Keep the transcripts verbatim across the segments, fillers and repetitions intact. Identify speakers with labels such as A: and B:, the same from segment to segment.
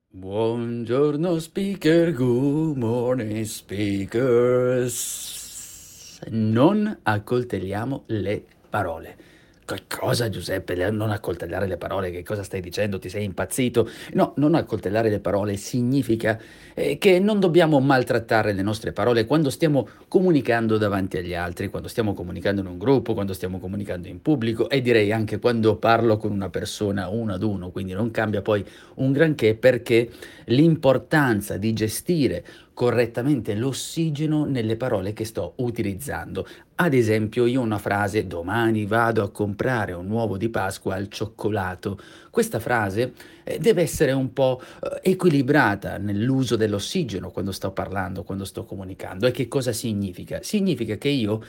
A: Buongiorno speaker, good morning speakers. Non accoltelliamo le parole. Che cosa, Giuseppe? Le- Non accoltellare le parole, che cosa stai dicendo? Ti sei impazzito? No, non accoltellare le parole significa eh, che non dobbiamo maltrattare le nostre parole quando stiamo comunicando davanti agli altri, quando stiamo comunicando in un gruppo, quando stiamo comunicando in pubblico e direi anche quando parlo con una persona uno ad uno, quindi non cambia poi un granché perché l'importanza di gestire correttamente l'ossigeno nelle parole che sto utilizzando. Ad esempio, io ho una frase: "Domani vado a comprare un uovo di Pasqua al cioccolato". Questa frase, ehm, deve essere un po', uhm, equilibrata nell'uso dell'ossigeno quando sto parlando, quando sto comunicando. E che cosa significa? Significa che io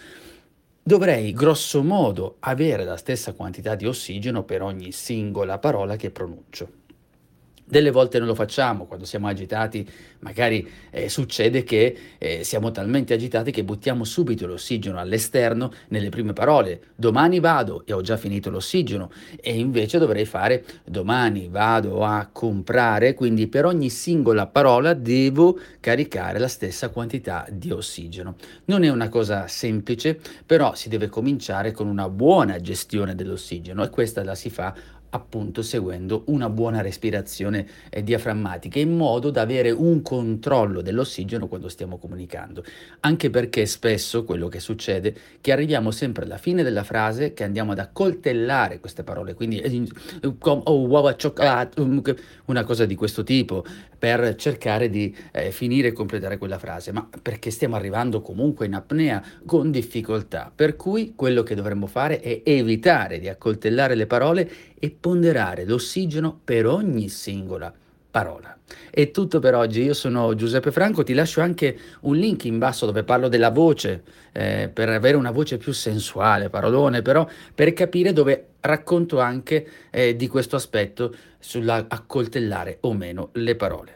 A: dovrei grosso modo avere la stessa quantità di ossigeno per ogni singola parola che pronuncio. Delle volte non lo facciamo, quando siamo agitati magari, ehm, succede che, ehm, siamo talmente agitati che buttiamo subito l'ossigeno all'esterno nelle prime parole. "Domani vado" e ho già finito l'ossigeno, e invece dovrei fare: "Domani vado a comprare", quindi per ogni singola parola devo caricare la stessa quantità di ossigeno. Non è una cosa semplice, però si deve cominciare con una buona gestione dell'ossigeno e questa la si fa appunto seguendo una buona respirazione eh, diaframmatica, in modo da avere un controllo dell'ossigeno quando stiamo comunicando. Anche perché spesso quello che succede è che arriviamo sempre alla fine della frase che andiamo ad accoltellare queste parole, quindi eh, com- oh, uova cioccolato, um, che- una cosa di questo tipo, per cercare di eh, finire e completare quella frase, ma perché stiamo arrivando comunque in apnea con difficoltà. Per cui quello che dovremmo fare è evitare di accoltellare le parole e ponderare l'ossigeno per ogni singola parola. È tutto per oggi, io sono Giuseppe Franco, ti lascio anche un link in basso dove parlo della voce, eh, per avere una voce più sensuale, parolone, però per capire, dove racconto anche eh, di questo aspetto sulla accoltellare o meno le parole.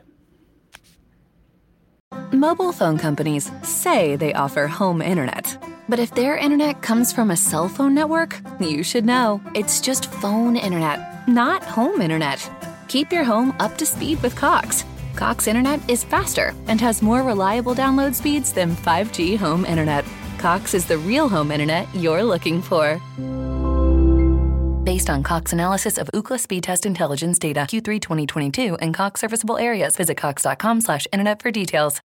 B: Mobile phone companies say they offer home internet. But if their internet comes from a cell phone network, you should know. It's just phone internet, not home internet. Keep your home up to speed with Cox. Cox internet is faster and has more reliable download speeds than five G home internet. Cox is the real home internet you're looking for. Based on Cox analysis of Ookla speed test intelligence data Q three twenty twenty-two and Cox serviceable areas, visit cox dot com slash internet for details.